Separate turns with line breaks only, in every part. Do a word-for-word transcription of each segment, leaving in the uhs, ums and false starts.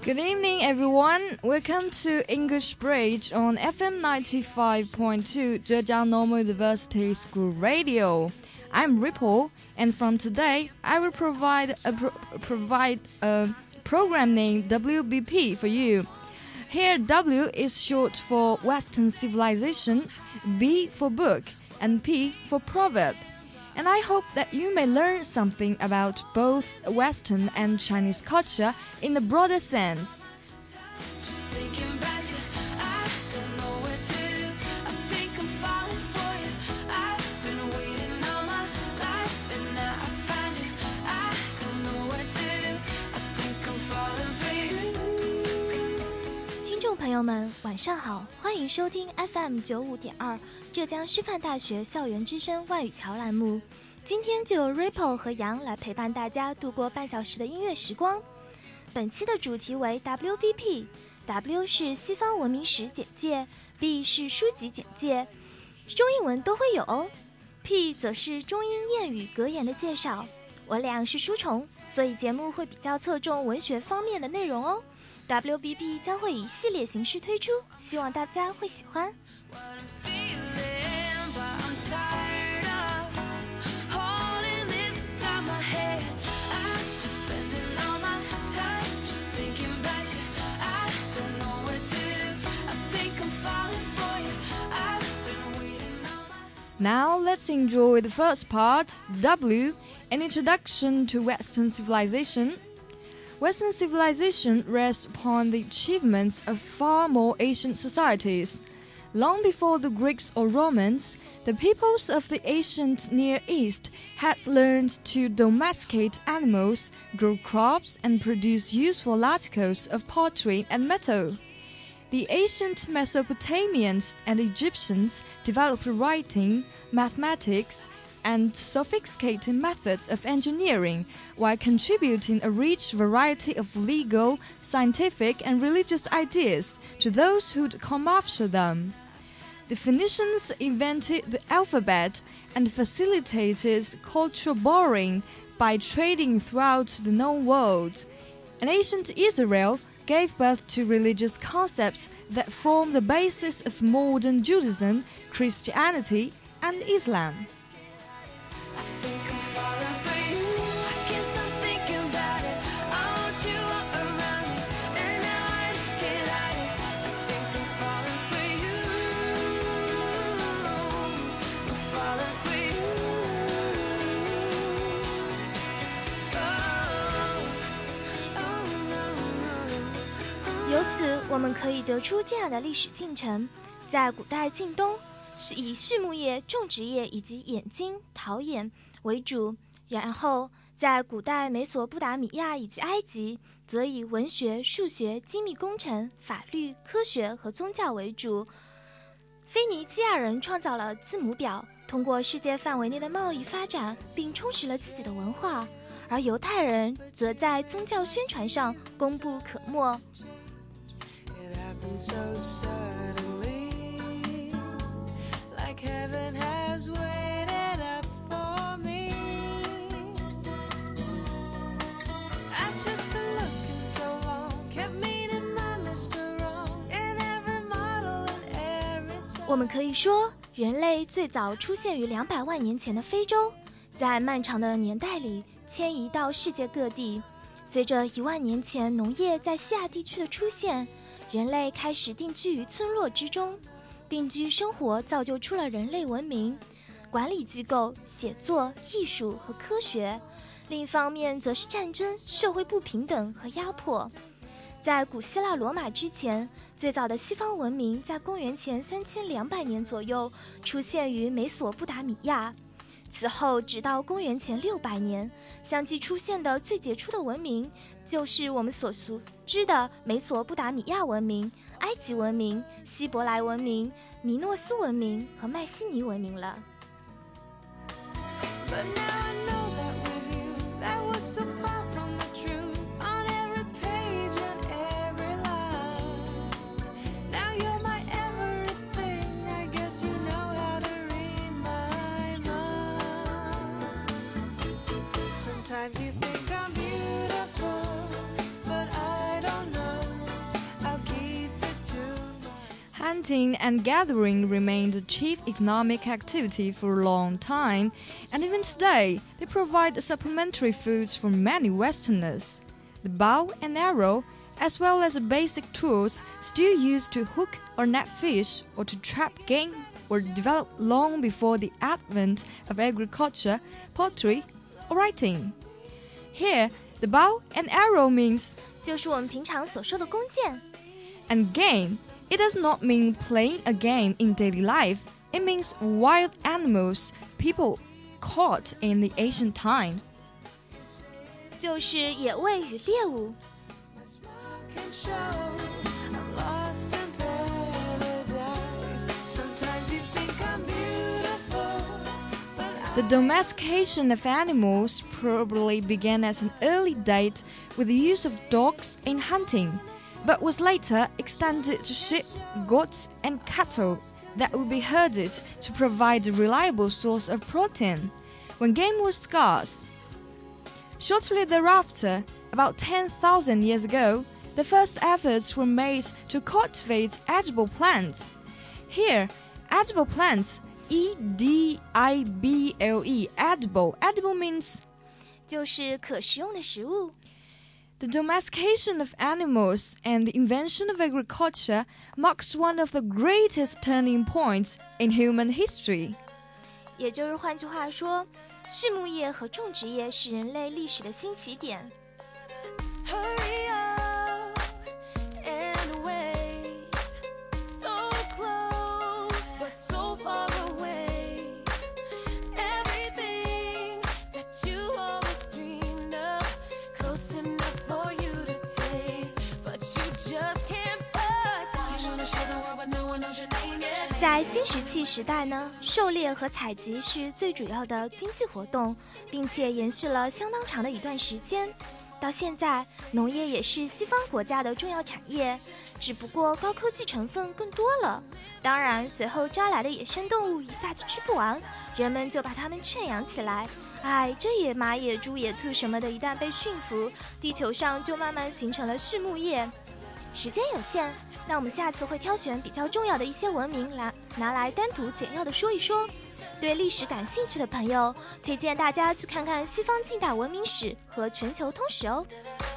Good evening, everyone. Welcome to English Bridge on F M ninety-five point two Zhejiang Normal University School Radio. I'm Ripple, and from today, I will provide a, pro provide a program named W B P for you. Here, W is short for Western Civilization, B for book, and P for proverb. And I hope that you may learn something about both Western and Chinese culture in a broader sense.
听众朋友们，晚上好，欢迎收听 F M 九五点二浙江师范大学校园之声外语桥栏目。今天就由 Ripple 和杨来陪伴大家度过半小时的音乐时光。本期的主题为 W B P，W 是西方文明史简介， B 是书籍简介，中英文都会有哦。P 则是中英谚语格言的介绍。我俩是书虫，所以节目会比较侧重文学方面的内容哦。W B P 将会以系列形式推出，希望大家会喜欢。
Now let's enjoy the first part, W, an introduction to Western civilization. Western civilization rests upon the achievements of far more ancient societies. Long before the Greeks or Romans, the peoples of the ancient Near East had learned to domesticate animals, grow crops, and produce useful articles of pottery and metal. The ancient Mesopotamians and Egyptians developed writing, mathematics, and sophisticated methods of engineering, while contributing a rich variety of legal, scientific, and religious ideas to those who'd come after them. The Phoenicians invented the alphabet and facilitated cultural borrowing by trading throughout the known world. And ancient Israel gave birth to religious concepts that form the basis of modern Judaism, Christianity, and Islam.
由此我们可以得出这样的历史进程。在古代晋东是以畜牧业、种植业以及冶金、陶冶为主，然后在古代美索不达米亚以及埃及则以文学、数学、精密工程、法律、科学和宗教为主。腓尼基亚人创造了字母表，通过世界范围内的贸易发展并充实了自己的文化，而犹太人则在宗教宣传上功不可没。
It happened so suddenly, like heaven has waited up for me. I've just been looking so long, kept meeting my Mister Wrong in every model and every song.
我们可以说，人类最早出现于两百万年前的非洲，在漫长的年代里迁移到世界各地。随着一万年前农业在西亚地区的出现，人类开始定居于村落之中，定居生活造就出了人类文明、管理机构、写作、艺术和科学。另一方面则是战争、社会不平等和压迫。在古希腊罗马之前，最早的西方文明在公元前三千两百年左右出现于美索不达米亚。此后直到公元前六百年，相继出现的最杰出的文明就是我们所熟知的美索不达米亚文明、埃及文明、希伯来文明、米诺斯文明和迈锡尼文明了。
But now I know that with you, that was so far from the truth. On every page and every line, now you're my everything. I guess you know how to read my mind. Sometimes you think I'm beautiful, but I don't know
Hunting and gathering remained the chief economic activity for a long time, and even today, they provide supplementary foods for many Westerners. The bow and arrow, as well as the basic tools still used to hook or net fish or to trap game, were developed long before the advent of agriculture, pottery, or writing. Here, the bow and arrow means
就是我们平常所说的弓箭。
And game, it does not mean playing a game in daily life. It means wild animals people caught in the ancient times.
就是野味与猎物。
The domestication of animals probably began at an early date with the use of dogs in hunting, but was later extended to sheep, goats, and cattle that would be herded to provide a reliable source of protein when game was scarce. Shortly thereafter, about ten thousand years ago, the first efforts were made to cultivate edible plants. Here, edible plants, E D I B L E, edible. Edible means
就是可食用的食物。
The domestication of animals and the invention of agriculture marks one of the greatest turning points in human history.
也就是换句话说，畜牧业和种植业是人类历史的新起点。
Hurry up and away, so close but so far away. Everything that you always dreamed of, close enough for you to taste, but you just can't touch. You wanna show the world but no one knows your name yet.
在新石器时代呢，狩猎和采集是最主要的经济活动，并且延续了相当长的一段时间。到现在，农业也是西方国家的重要产业，只不过高科技成分更多了。当然，随后招来的野生动物一下子吃不完，人们就把它们圈养起来。哎，这野马、野猪、野兔什么的，一旦被驯服，地球上就慢慢形成了畜牧业。时间有限，那我们下次会挑选比较重要的一些文明来拿来单独简要的说一说。对历史感兴趣的朋友，推荐大家去看看西方近代文明史和全球通史哦。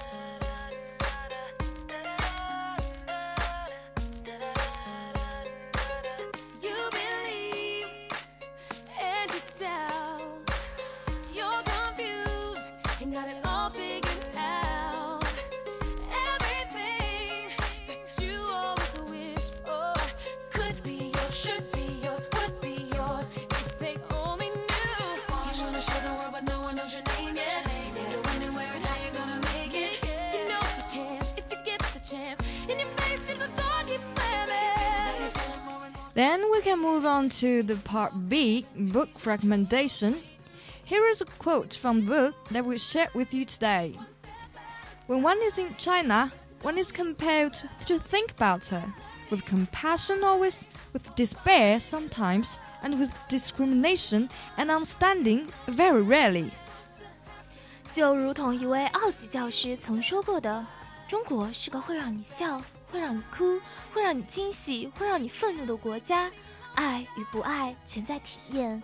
You believe and you doubt. You're confused and got it all figured out. Everything that you always wished for could be yours, should be yours, would be yours if they only knew. You wanna show the world but no one knows your name yet. You need to win and where and how you're gonna make it. You know you can if you get the chance. In your face if the door keeps slamming.
Then we can move on to the part B, book recommendation. Here is a quote from the book that we share with you today. When one is in China, one is compelled to think about her, with compassion always, with despair sometimes, and with discrimination and understanding very rarely.
就如同一位奥级教师曾说过的，中国是个会让你笑、会让你哭、会让你惊喜、会让你愤怒的国家，爱与不爱全在体验。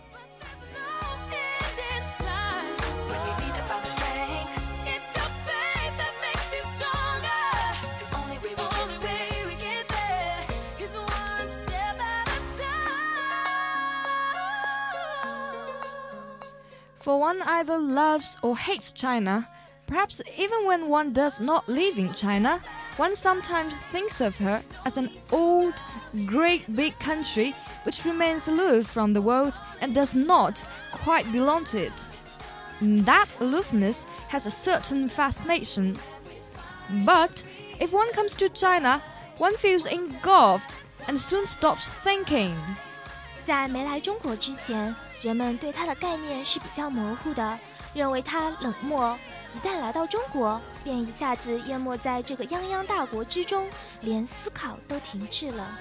For one either loves or hates China, perhaps even when one does not live in China, one sometimes thinks of her as an old, great big country which remains aloof from the world and does not quite belong to it. That aloofness has a certain fascination. But if one comes to China, one feels engulfed and soon stops thinking.
在没来中国之前，人们对它的概念是比较模糊的，认为它冷漠。一旦来到中国，便一下子淹没在这个泱泱大国之中，连思考都停滞了。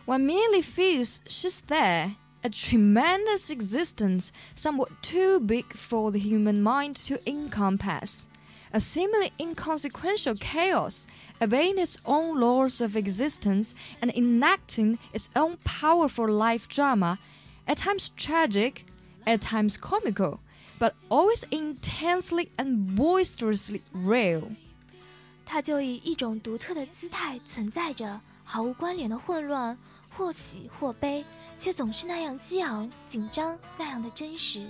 One merely feels she's there, a tremendous existence somewhat too big for the human mind to encompass, a seemingly inconsequential chaos, obeying its own laws of existence and enacting its own powerful life drama, at times tragic, at times comical, but always intensely and boisterously real.
它就以一种独特的姿态存在着，毫无关联的混乱，或喜或悲，却总是那样激昂、紧张，那样的真实。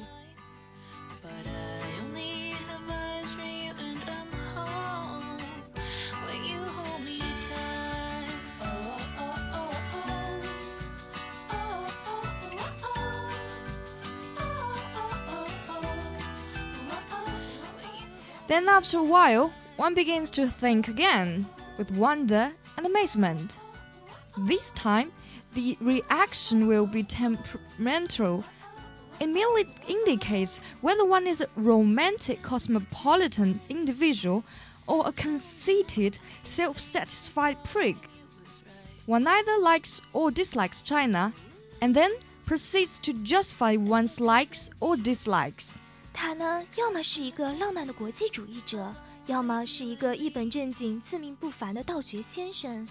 Then after a while, one begins to think again, with wonder and amazement. This time, the reaction will be temperamental. It merely indicates whether one is a romantic cosmopolitan individual or a conceited, self-satisfied prig. One either likes or dislikes China, and then proceeds to justify one's likes or dislikes.
他呢，要么是一个浪漫的国际主义者，要么是一个一本正经、自命不凡的道学先生。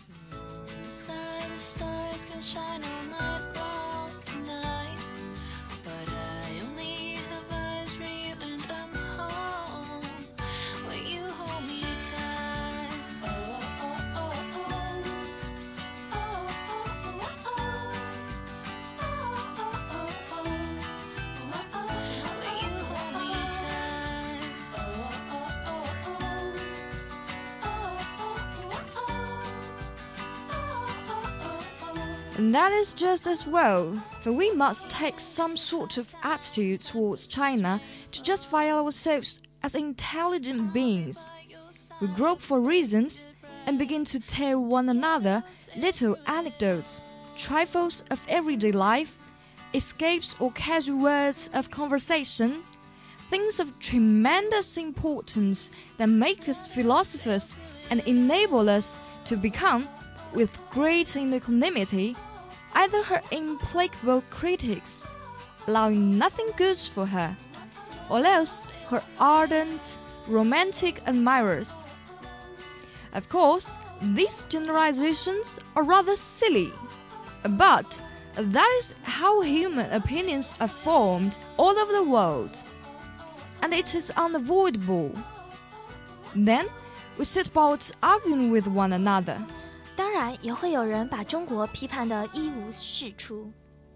And that is just as well, for we must take some sort of attitude towards China to justify ourselves as intelligent beings. We grope for reasons and begin to tell one another little anecdotes, trifles of everyday life, escapes or casual words of conversation, things of tremendous importance that make us philosophers and enable us to become, with great equanimity, either her implacable critics, allowing nothing good for her, or else her ardent, romantic admirers. Of course, these generalizations are rather silly, but that is how human opinions are formed all over the world, and it is unavoidable. Then we set about arguing with one another.
当然，也会有人把中国批判得一无是处。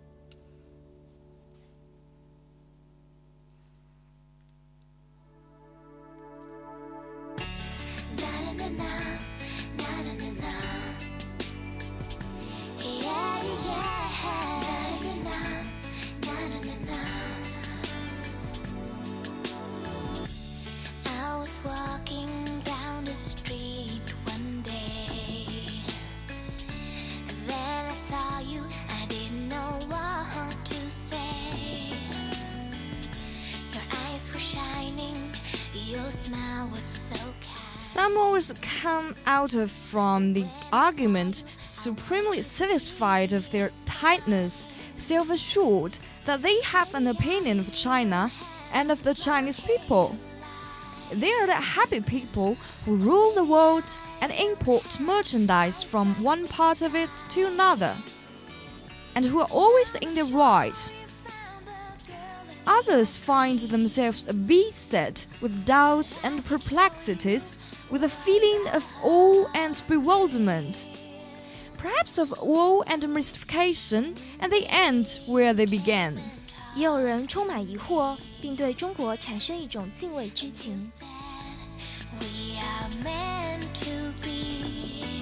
Some always come out of from the argument supremely satisfied of their tightness, self-assured that they have an opinion of China and of the Chinese people. They are the happy people who rule the world and import merchandise from one part of it to another, and who are always in the right. Others find themselves beset with doubts and perplexities, with a feeling of awe and bewilderment, perhaps of awe and mystification, and they end where they began.
也有人充满疑惑，并对中国产生一种敬畏之情。
We are meant to be.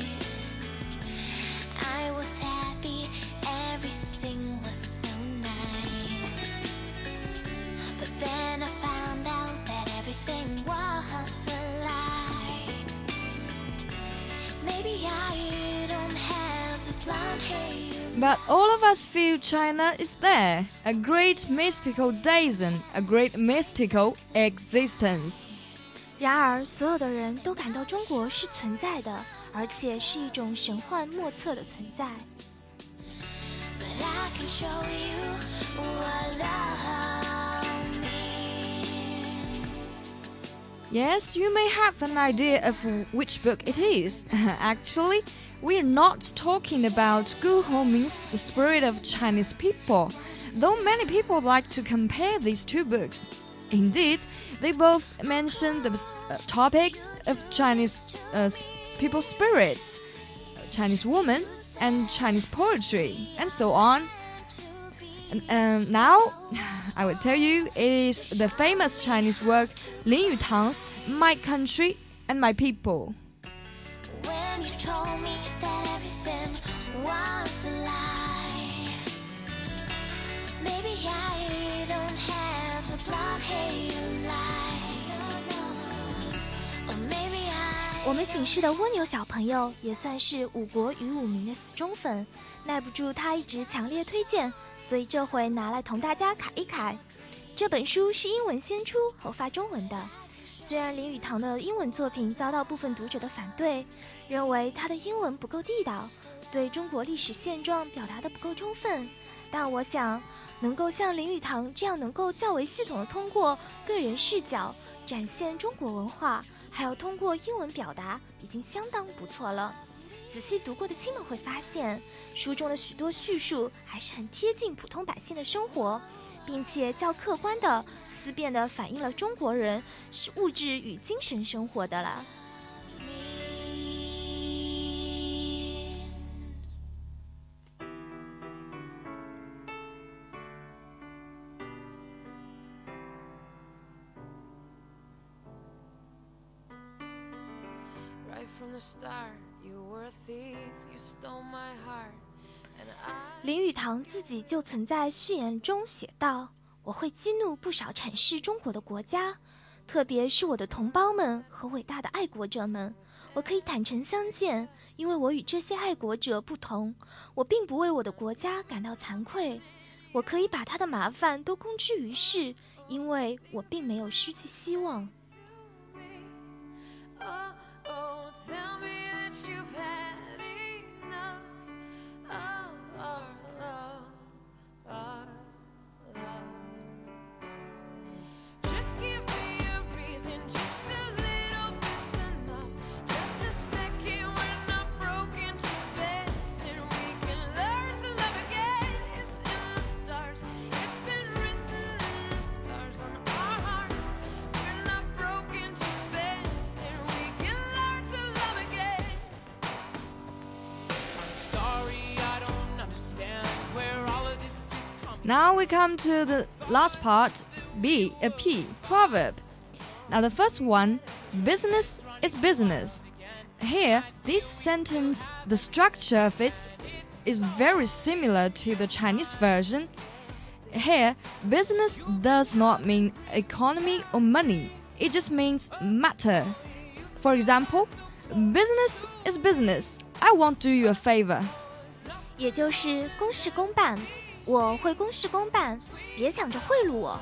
I was happy, everything was so nice. But then I found out that everything was a lie. Maybe I don't have the blonde hair.
But all of us feel China is there, a great mystical dazen, a great mystical existence.
然而，所有的人都感到中国是存在的，而且是一种神幻莫测的存在。
can show you what love means.
Yes, you may have an idea of which book it is. Actually, we're not talking about Gu Hongming's The Spirit of Chinese People, though many people like to compare these two books. Indeed, they both mention the uh, topics of Chinese uh, people's spirits, Chinese women, and Chinese poetry, and so on. And um, now, I will tell you, it is the famous Chinese work Lin Yutang's My Country and My People.
When you told me that everything was a lie, maybe I don't have the blonde hair you like, or maybe I
我们寝室的蜗牛小朋友也算是五国与武明的死忠粉，耐不住他一直强烈推荐，所以这回拿来同大家侃一侃。这本书是英文先出后发中文的，虽然林语堂的英文作品遭到部分读者的反对，认为他的英文不够地道，对中国历史现状表达的不够充分，但我想能够像林语堂这样能够较为系统的通过个人视角展现中国文化，还有通过英文表达，已经相当不错了。仔细读过的亲们会发现，书中的许多叙述还是很贴近普通百姓的生活，并且较客观的、思辨的反映了中国人是物质与精神生活的了。
Right from the start, you were a thief, you stole my heart, and I...
林语堂自己就曾在序言中写道：“我会激怒不少阐释中国的国家，特别是我的同胞们和伟大的爱国者们。我可以坦诚相见，因为我与这些爱国者不同，我并不为我的国家感到惭愧。我可以把他的麻烦都公之于世，因为我并没有失去希望。”
Oh, oh, tell me that you've had enough of our love, our love. Just give me a reason, just a little bit's enough. Just a second, we're not broken, just bends, and we can learn to love again. It's in the stars, it's been written in the scars on our hearts. We're not broken, just bends, and we can learn to love again. I'm sorry, I don't understand where all of this is coming.
Now we come to the last part, B, a P, proverb. Now the first one, business is business. Here, this sentence, the structure of it is very similar to the Chinese version. Here, business does not mean economy or money. It just means matter. For example, business is business. I won't do you a favor.
也就是公事公办，我会公事公办，别想着贿赂我。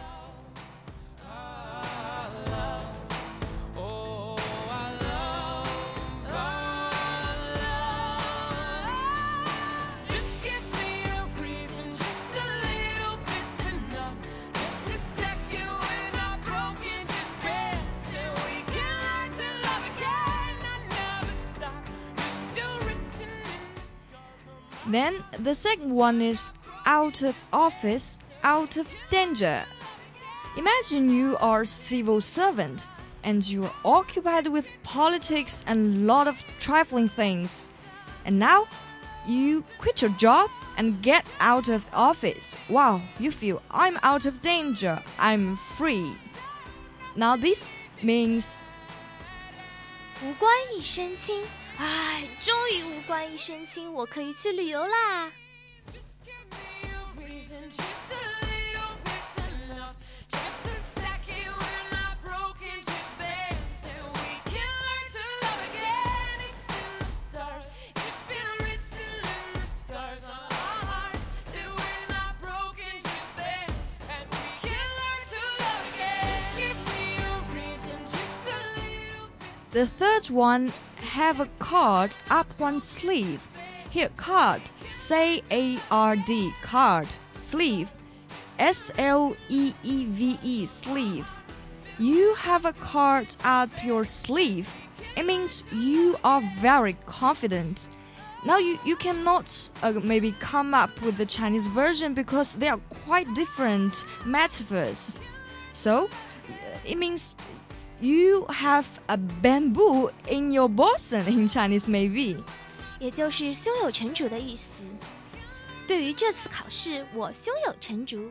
Just give me a reason, just a little bit's enough. Just a second, we're not broken, just bends, and we can learn to love again. I never stop, it's still written in the scars on my...
Then the second one is out of office, out of danger. Imagine you are a civil servant and you are occupied with politics and a lot of trifling things. And now you quit your job and get out of the office. Wow, you feel I'm out of danger, I'm free. Now this means
无官一身轻，唉，终于无官一身轻，我可以去旅游啦。
Just give me a reason, just a little bit's enough. Just a second, we're not broken, just bends, and we can learn to love again. It's in the stars, it's been written in the scars on our hearts that we're not broken, just bends, and we can learn to love again. Just give me a reason, just a little bit's
the third one, have a card up one sleeve. Here, card, C A R D, card, sleeve, S L E E V E, sleeve. You have a card up your sleeve. It means you are very confident. Now you, you cannot uh, maybe come up with the Chinese version because they are quite different metaphors. So, it means you have a bamboo in your bosom in Chinese maybe.
也就是胸有成竹的意思。对于这次考试，我胸有成竹。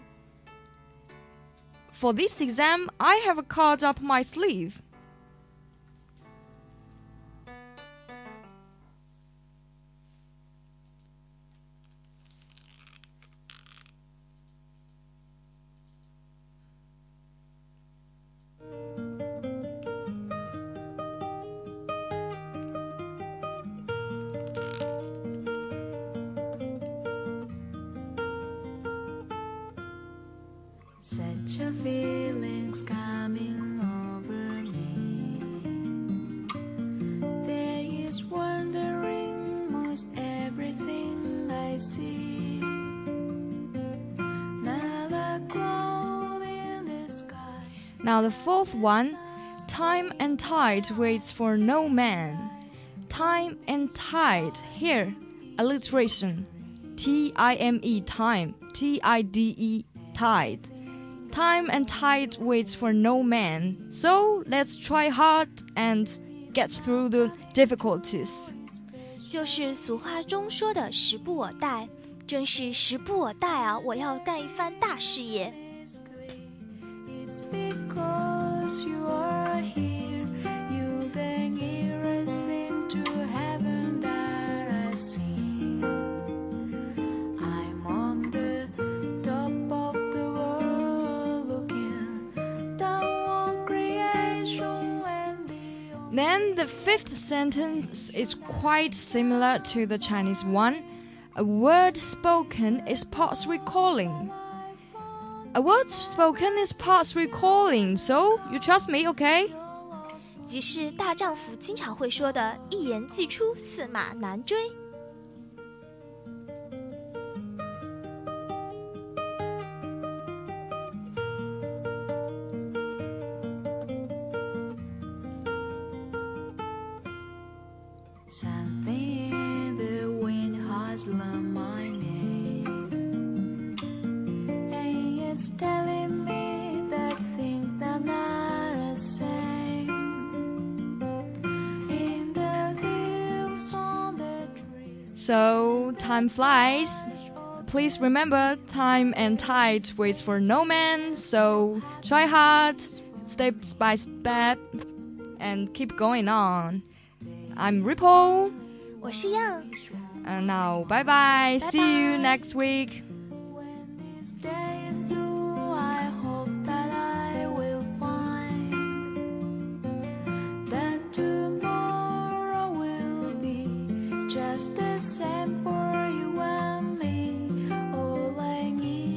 For this exam, I have a card up my sleeve.
Such a feeling's coming over me. There is wondering most everything I see. Not a cloud in the sky.
Now the fourth one, time and tide waits for no man. Time and tide, here, alliteration. T I M E, time, T I D E, tide. Time and tide waits for no man. So let's try hard and get through the difficulties.
就是俗话中说的时不我待，真是时不我待啊！我要干一番大事业。
It's because you are here. You the nearest thing to heaven that I've seen. I'm on the top of the world looking down on creation and the
Then the fifth sentence is quite similar to the Chinese one. A word spoken is past recalling. A word spoken is past recalling, so you trust me, okay?
即是大丈夫经常会说的“一言既出，驷马难追”。
Something in the wind has learned my name, and it's telling me that things are not the same. In the leaves on the trees.
So time flies. Please remember, time and tide waits for no man. So try hard, step by step, and keep going on. I'm Ripple.
我是 Yang，
And now, bye bye. See you
Bye-bye.
next week.
When this day is through, I hope that I will find that tomorrow will be just the same for